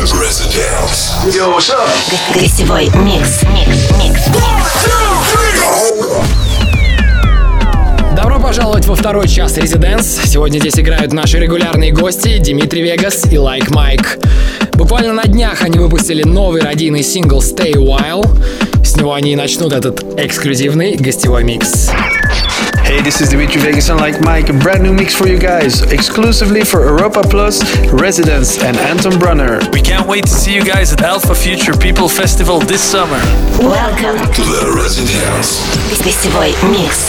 Residence. Yo, what's up? Гостевой микс. Добро пожаловать во второй час Residence. Сегодня здесь играют наши регулярные гости Димитри Вегас и Like Mike. Буквально на днях они выпустили новый радийный сингл Stay a While. С него они и начнут этот эксклюзивный гостевой микс. Hey, this is Dimitri Vegas and Like Mike, a brand new mix for you guys, exclusively for Europa Plus, Residence and Anton Brunner. We can't wait to see you guys at Alpha Future People Festival this summer. Welcome To the Residence. гостевой микс.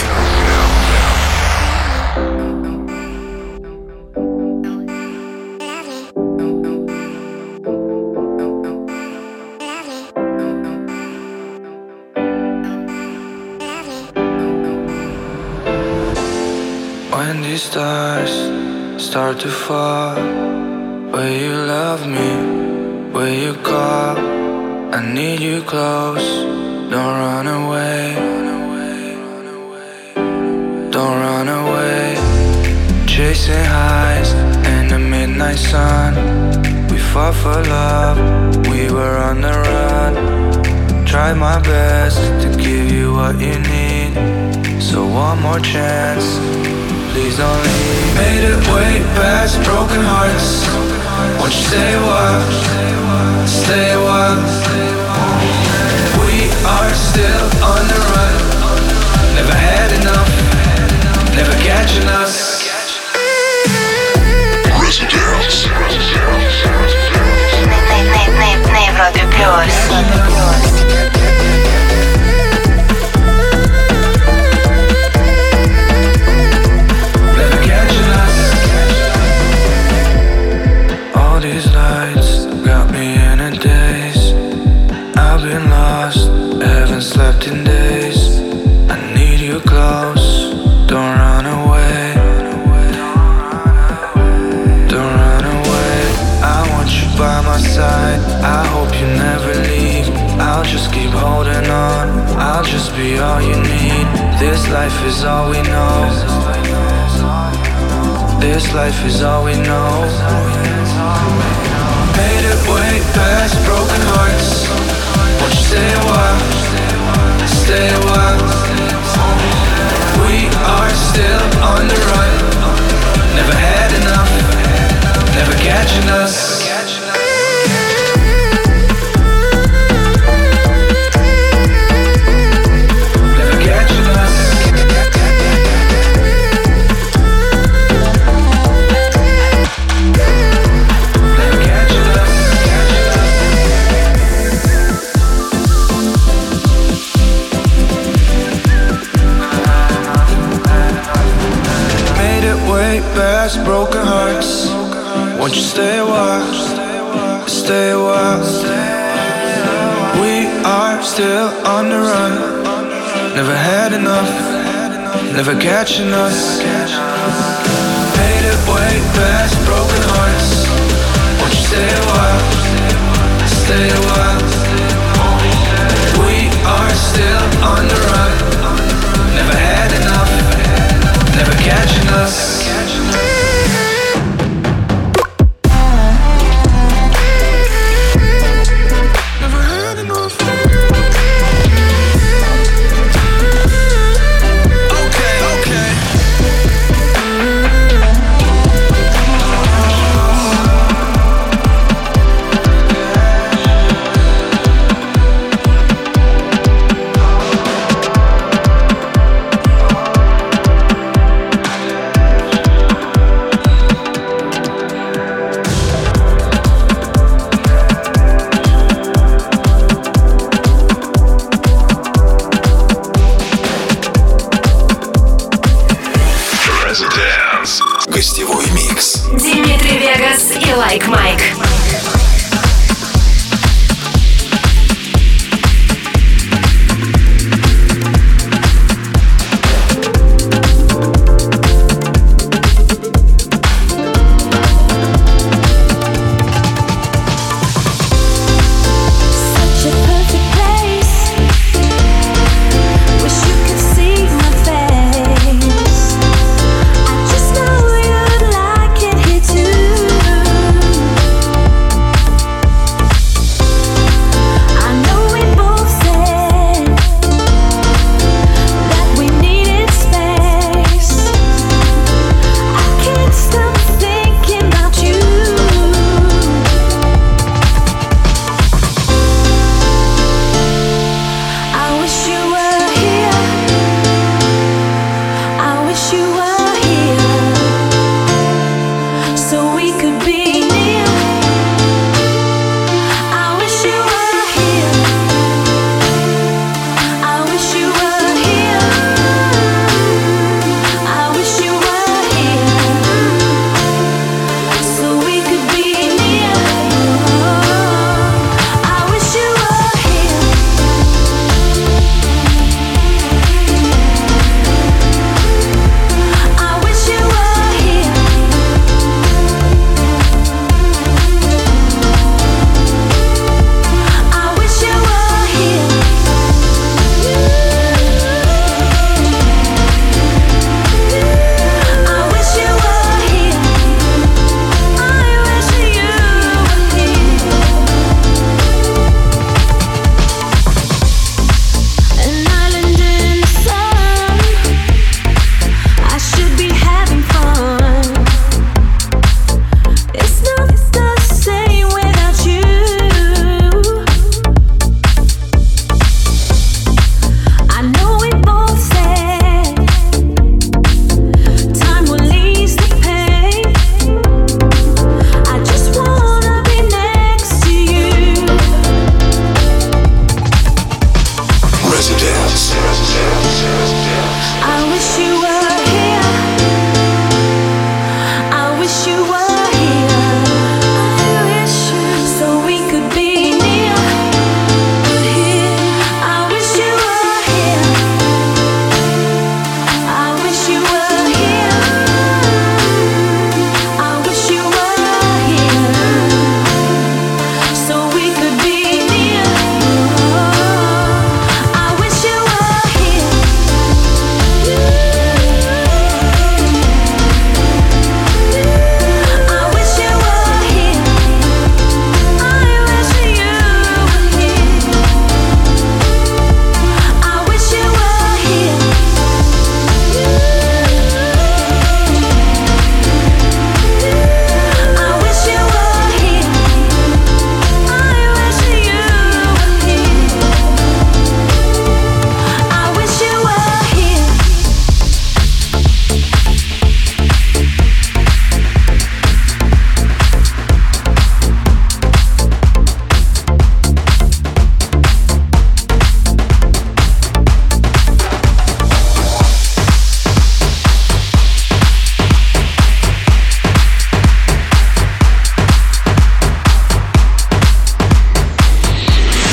When these stars start to fall, will you love me? Will you call? I need you close. Don't run away. Don't run away. Chasing highs in the midnight sun. We fought for love. We were on the run. Tried my best to give you what you need. So one more chance. Please don't leave. Made it way past broken hearts. Won't you stay a while? Stay a while. We are still on the run. Never had enough. Never catching us. Residence. На Европе плюс. All these lights got me in a daze. I've been lost, haven't slept in days. I need you close, don't run away. Don't run away. I want you by my side. I hope you never leave. I'll just keep holding on. I'll just be all you need. This life is all we know. This life is all we know. Made it way past broken hearts. Won't you stay a while? Stay a while. We are still on the run. Never had enough. Never catching us. Past broken hearts. Won't you stay a while? Stay a while. We are still on the run. Never had enough. Never catching us. Made it way past broken hearts. Won't you stay a while? Stay a while. We are still on the run. Never had enough. Never catching us.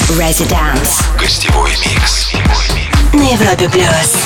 Residence. Гостевой микс. На Европе плюс.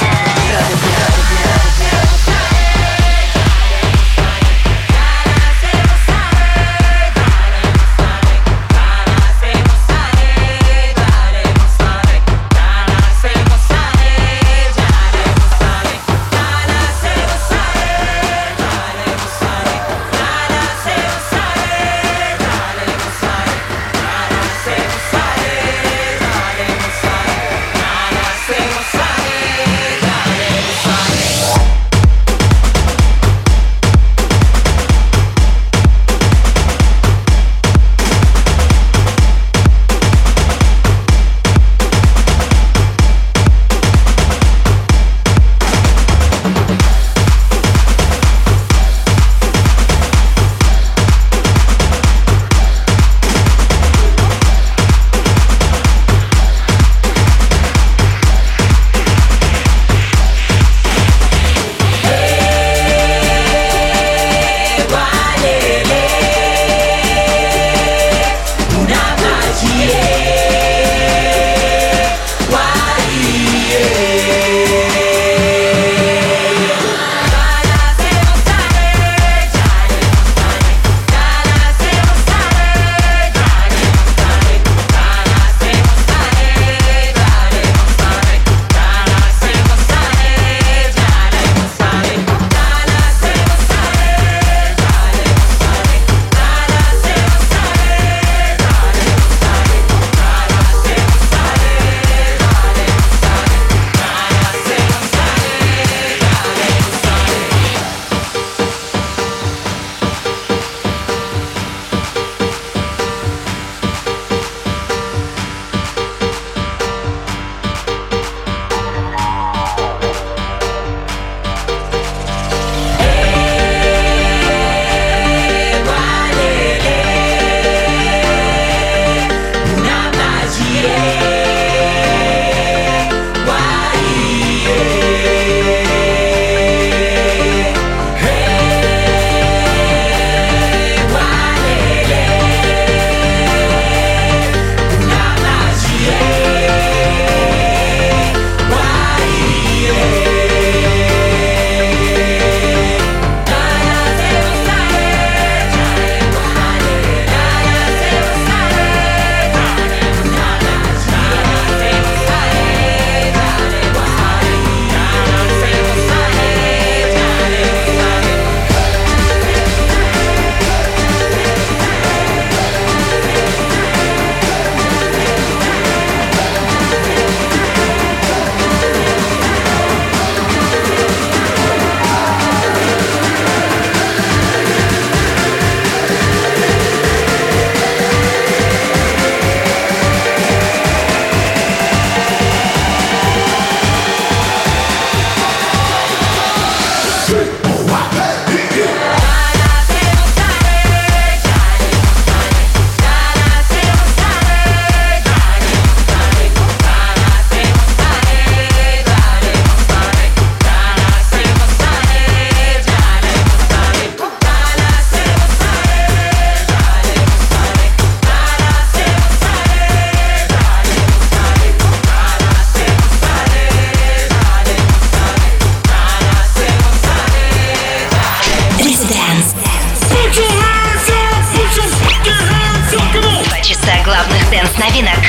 дэнс-новинок.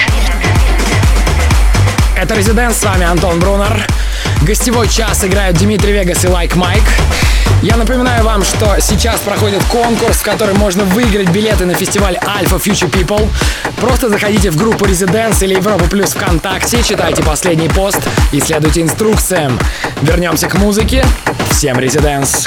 Это Residence, с вами Антон Брунер. Гостевой час играют Димитри Вегас и Like Mike. Я напоминаю вам, что сейчас проходит конкурс, в котором можно выиграть билеты на фестиваль Alpha Future People. Просто заходите в группу Residence или Европа Плюс ВКонтакте, читайте последний пост и следуйте инструкциям. Вернемся к музыке. Всем Residence.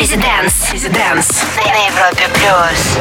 Residence на Европе плюс.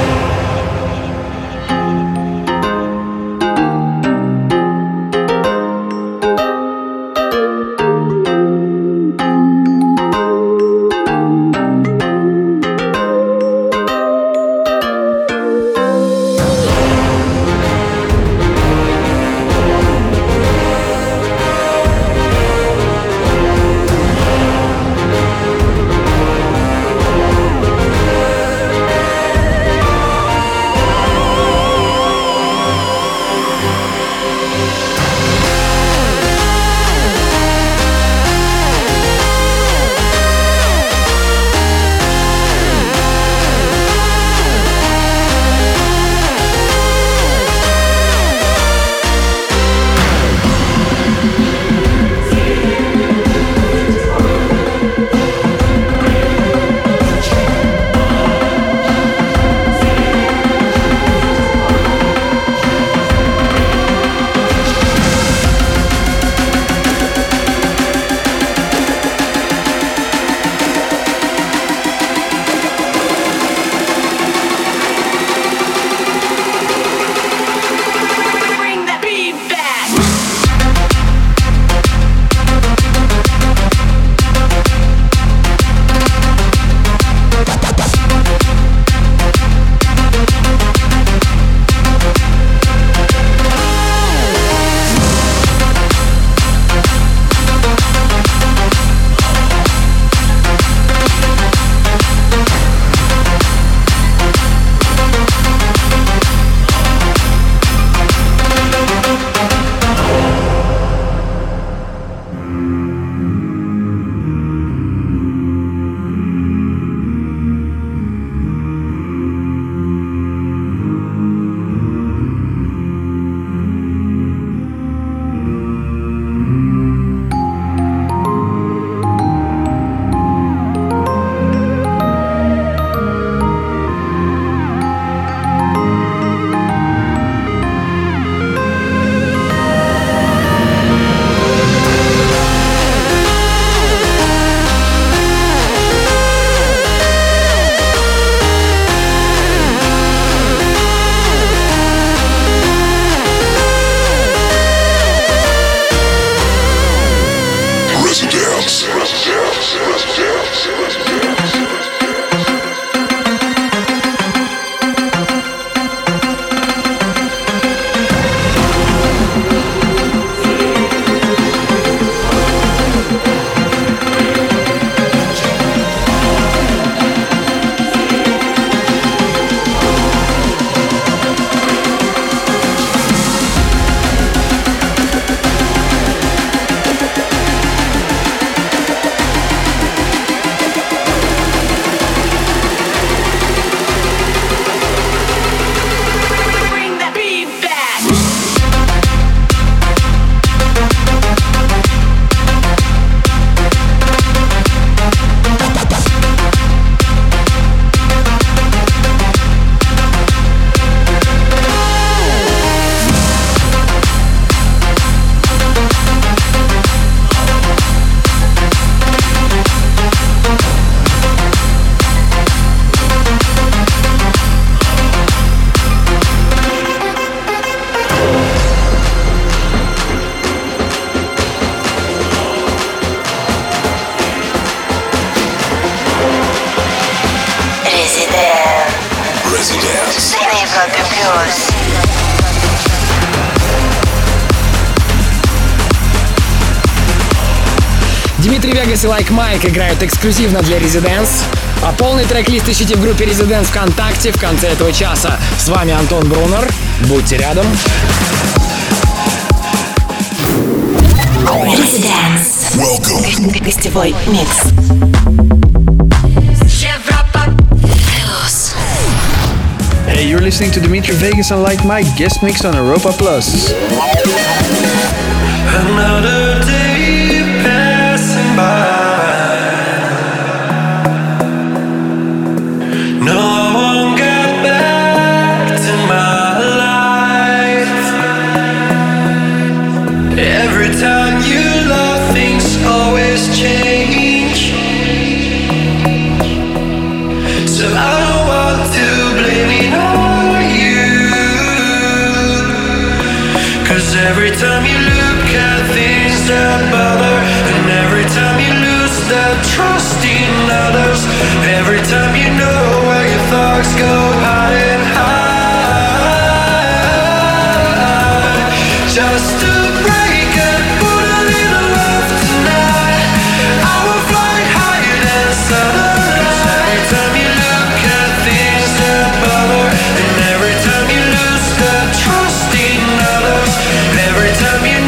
Димитри Вегас и Like Mike играют эксклюзивно для Residence, а полный трек-лист ищите в группе Residence ВКонтакте в конце этого часа. С вами Антон Брунер. Будьте рядом. Residence. Welcome. Гостевой микс. Hey, you're listening to Dimitri Vegas and Like Mike guest mix on Europa Plus. Another day passing by. No one got back to my life. Every time you love, things always change. every time you look at things that bother, and every time you lose that trust in others, every time you know where your thoughts go hiding high, just to break and put a little love tonight. I will fly higher than sunrise. Every time you look at things that bother, and every time you lose that trust in others, every time you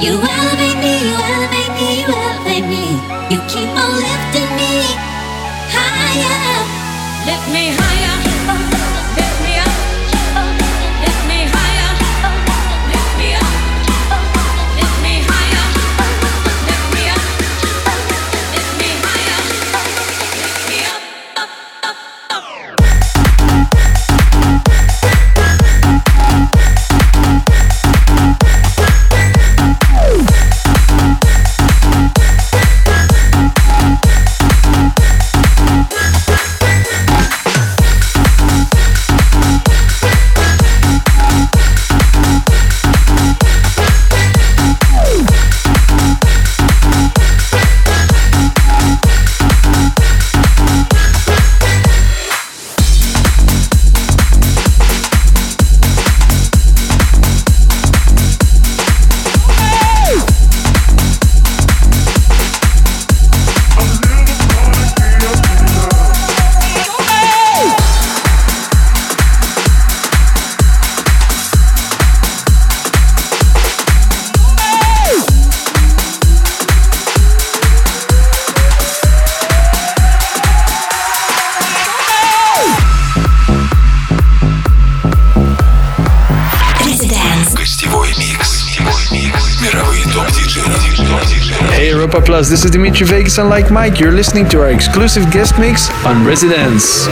You elevate me, you elevate me, you elevate me. You keep on lifting me higher. Lift me higher. Lift me up. Lift me higher. Lift me up. Lift me higher. Lift me up. Lift me higher. Lift me up. Hey Europa Plus, this is Dimitri Vegas and Like Mike. You're listening to our exclusive guest mix on Residence.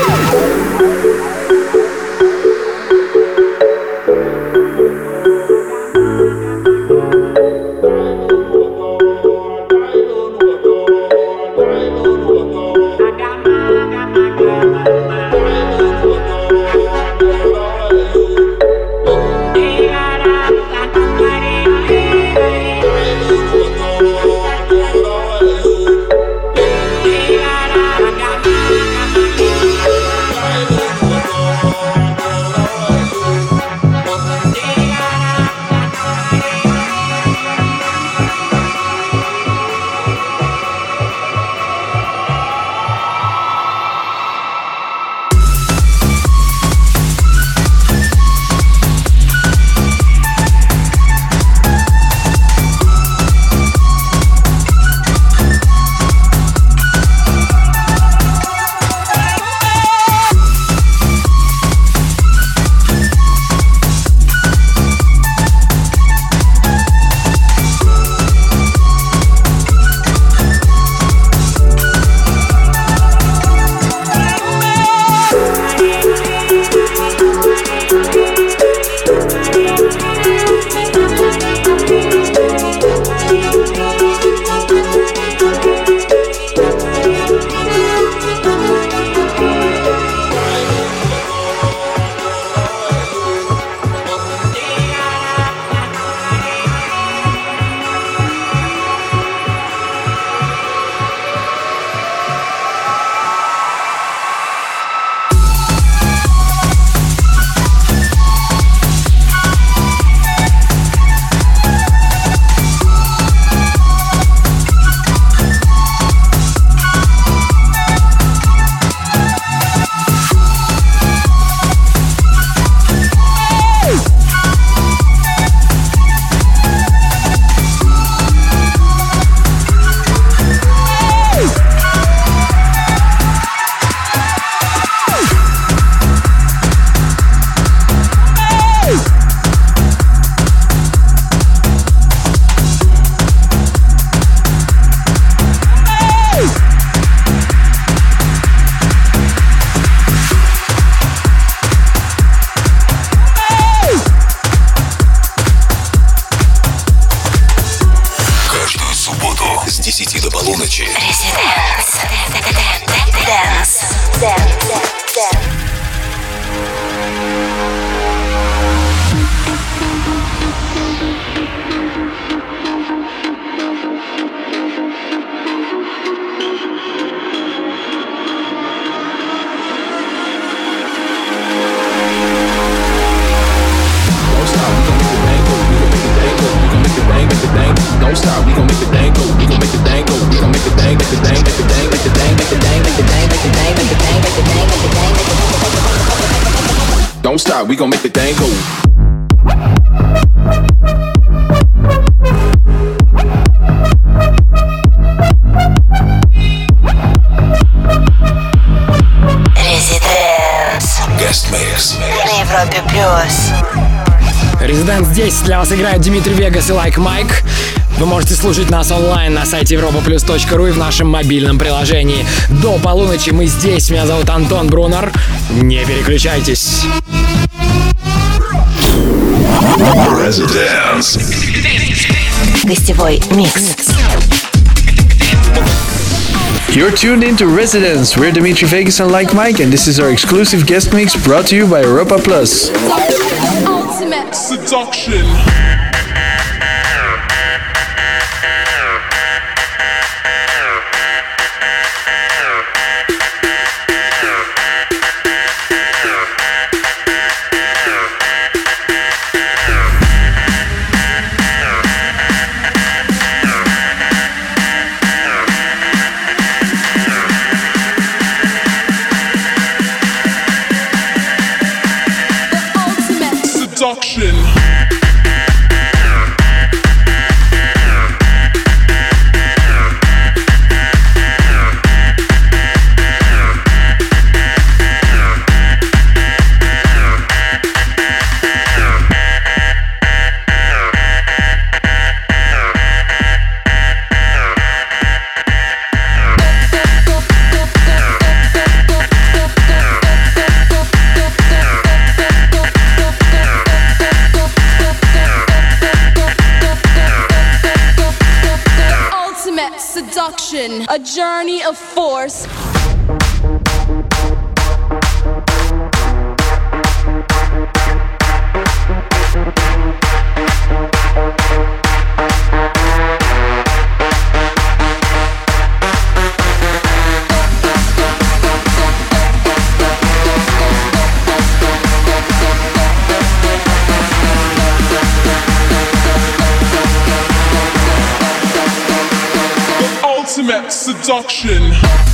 Don't stop, we gon' make the thing go. Здесь для вас играют Дмитрий Вегас и Like Mike. Вы можете слушать нас онлайн на сайте europaplus.ru и в нашем мобильном приложении. До полуночи мы здесь. Меня зовут Антон Брунер. Не переключайтесь. Residence. Гостевой микс. You're tuned into Residence. We're Dimitri Vegas and Like Mike, and this is our exclusive guest mix brought to you by Europa Plus. Ultimate Seduction. Seduction. Seduction, a journey of force. Ultimate seduction.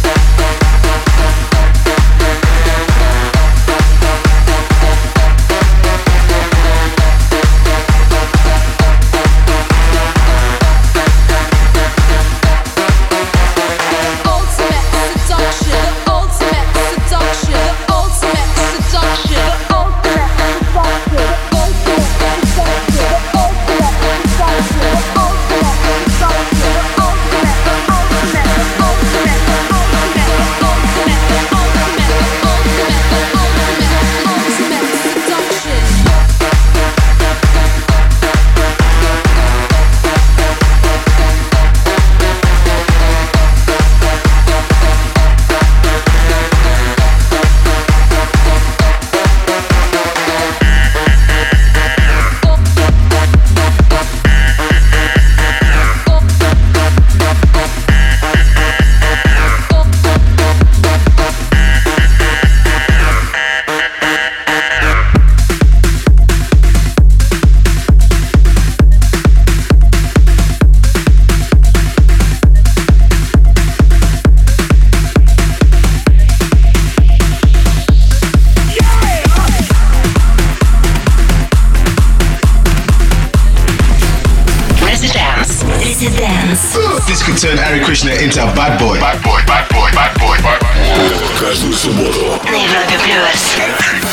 This could turn Hare Krishna into a bad boy. Bad boy, bad boy, bad boy, bad boy. Каждую субботу На Европе Плюс.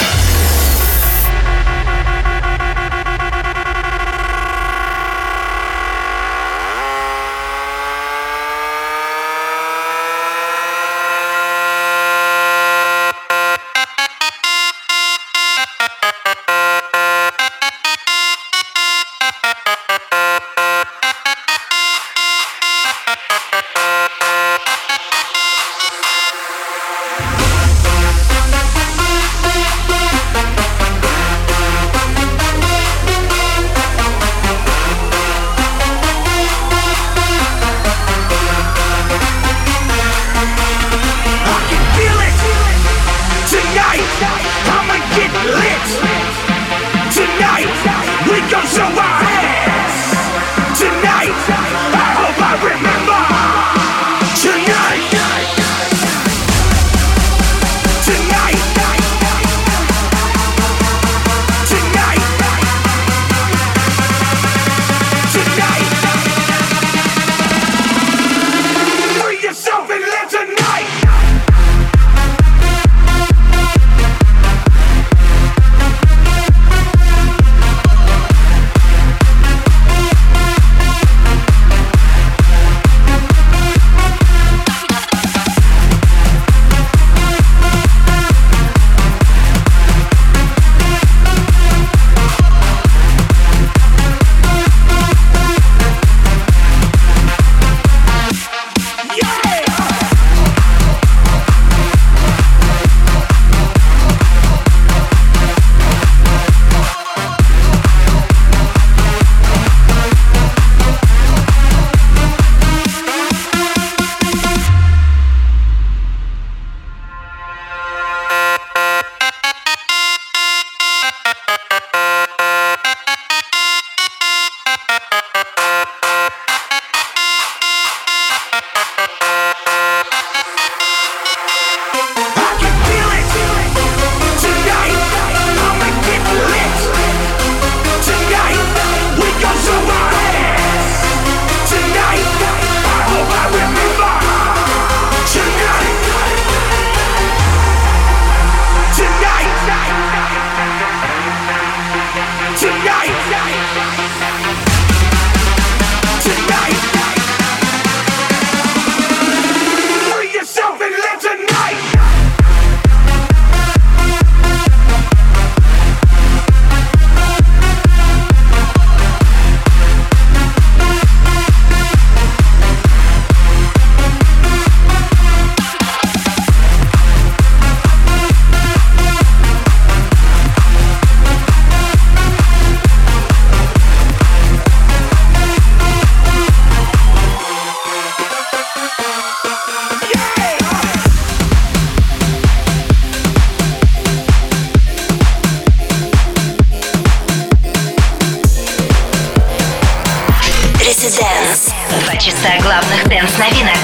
Residence. 2 часа главных дэнс-новинок.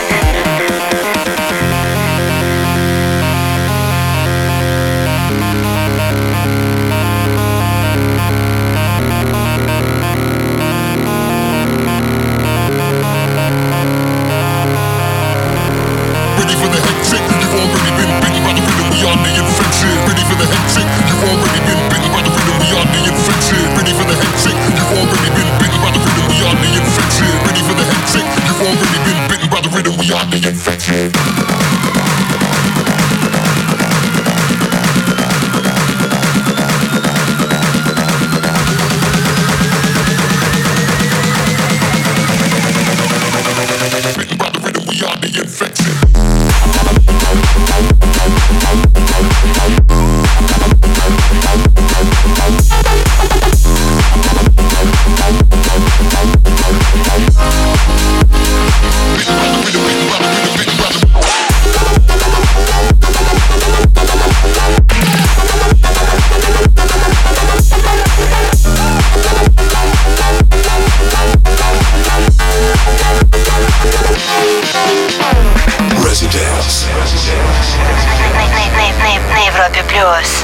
На Европе плюс.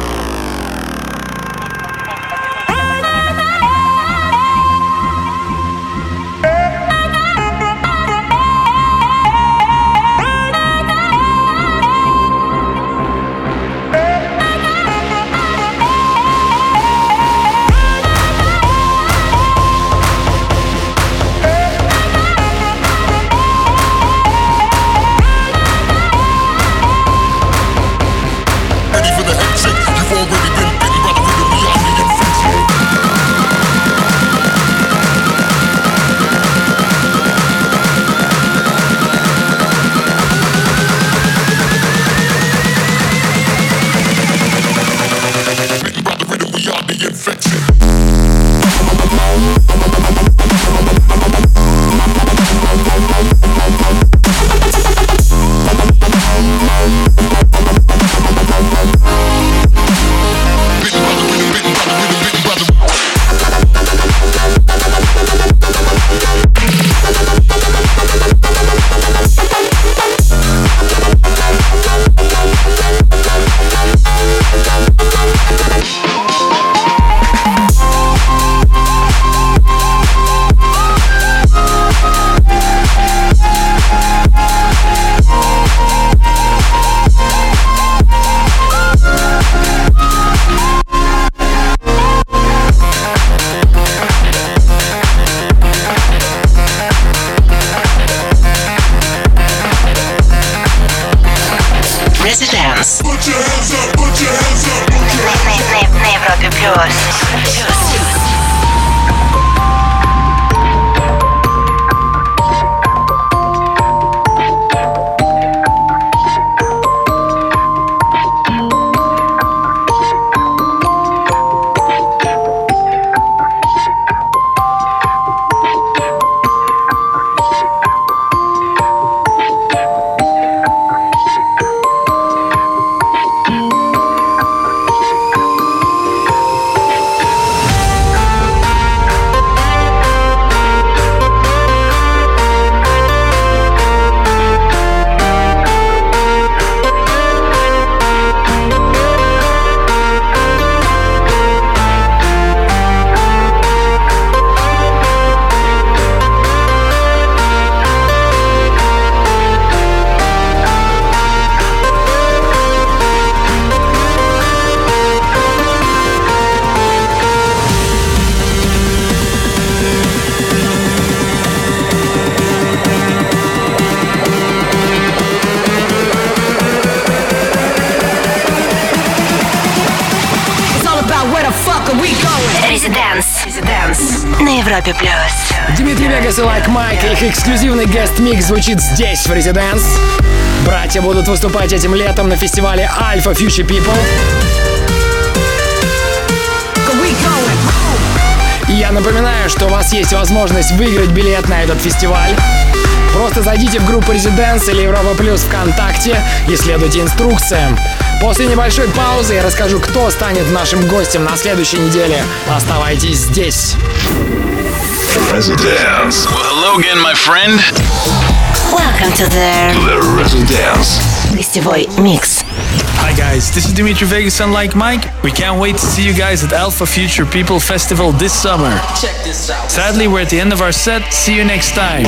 Residence. На Европе плюс. Residence. На Европе плюс. Дмитрий Вегас и Like Mike. Их эксклюзивный гест-микс звучит здесь, в Residence. Братья будут выступать этим летом на фестивале Alpha Future People. И я напоминаю, что у вас есть возможность выиграть билет на этот фестиваль. Просто зайдите в группу Residence или Европа Плюс ВКонтакте и следуйте инструкциям. После небольшой паузы я расскажу, кто станет нашим гостем на следующей неделе. Оставайтесь здесь. Residence. Well, hello again, my friend. Welcome to The Residence. гостевой микс. Hi guys, this is Dimitri Vegas and Like Mike. We can't wait to see you guys at Alpha Future People Festival this summer. Check this out. Sadly, we're at the end of our set. See you next time.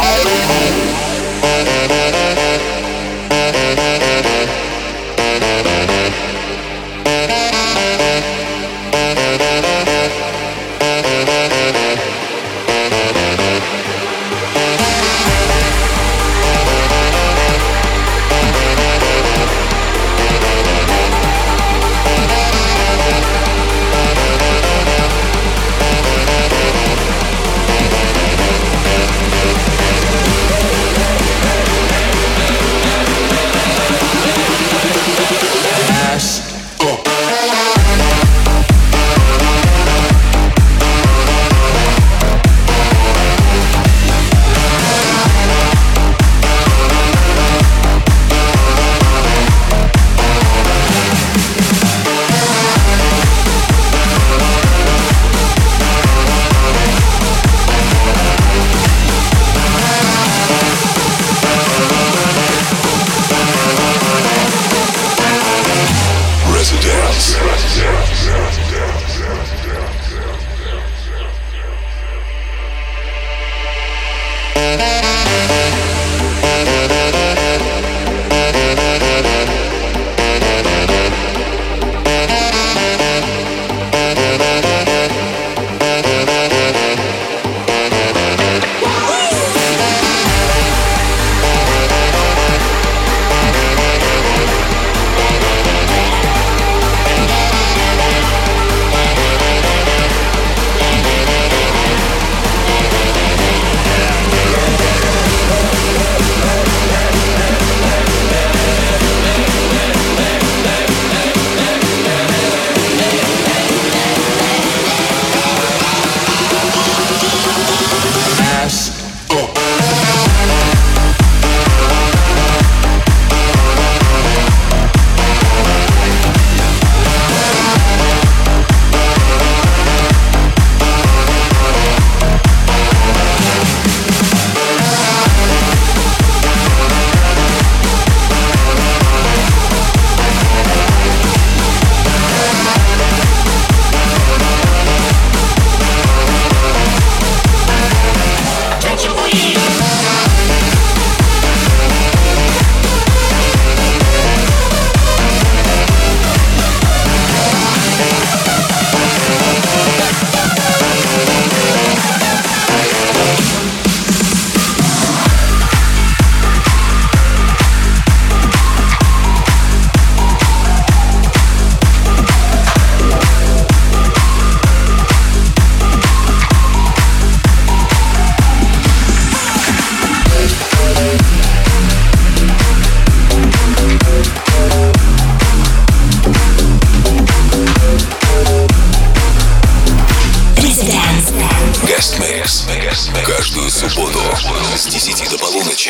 Каждую субботу с 10 до полуночи.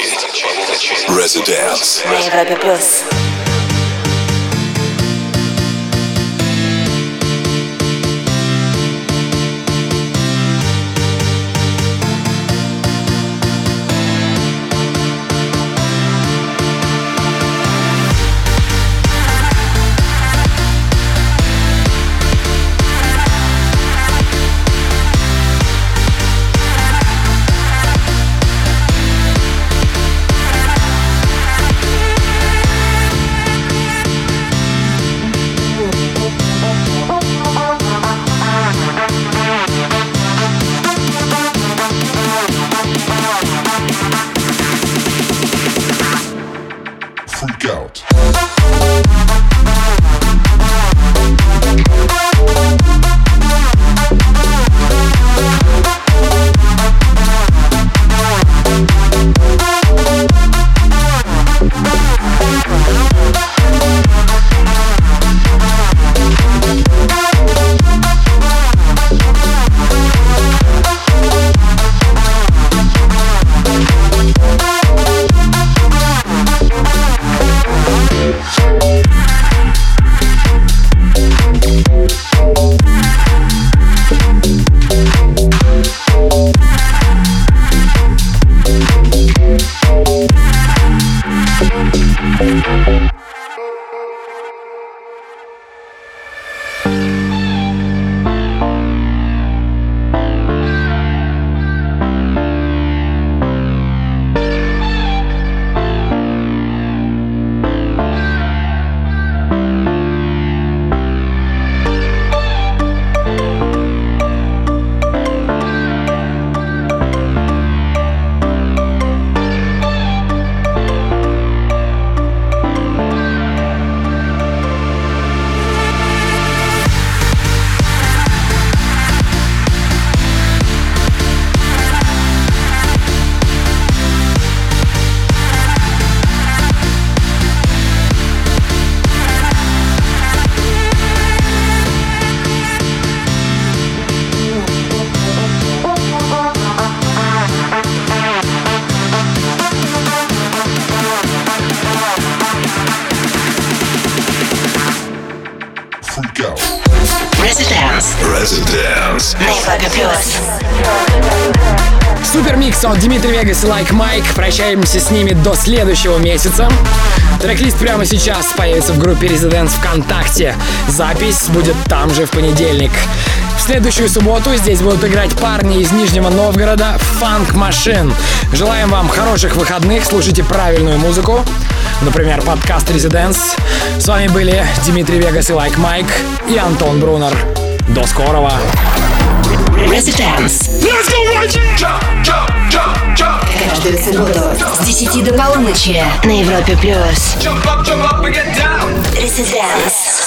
Residence. На Европе Плюс. Vegas. На Европе Плюс. Супер микс от Дмитрий Вегас и Like Mike. Прощаемся с ними до следующего месяца. Трек-лист прямо сейчас появится в группе Residence ВКонтакте. Запись будет там же в понедельник. В следующую субботу здесь будут играть парни из Нижнего Новгорода Funk Machine. Желаем вам хороших выходных, слушайте правильную музыку. Например, подкаст Residence. С вами были Дмитрий Вегас и Like Mike и Антон Брунер. До скорого. Residence. Let's go right. Jump, jump, jump, jump. Каждую субботу с 10 до полуночи на Европе Плюс. Jump up and get down. Residence.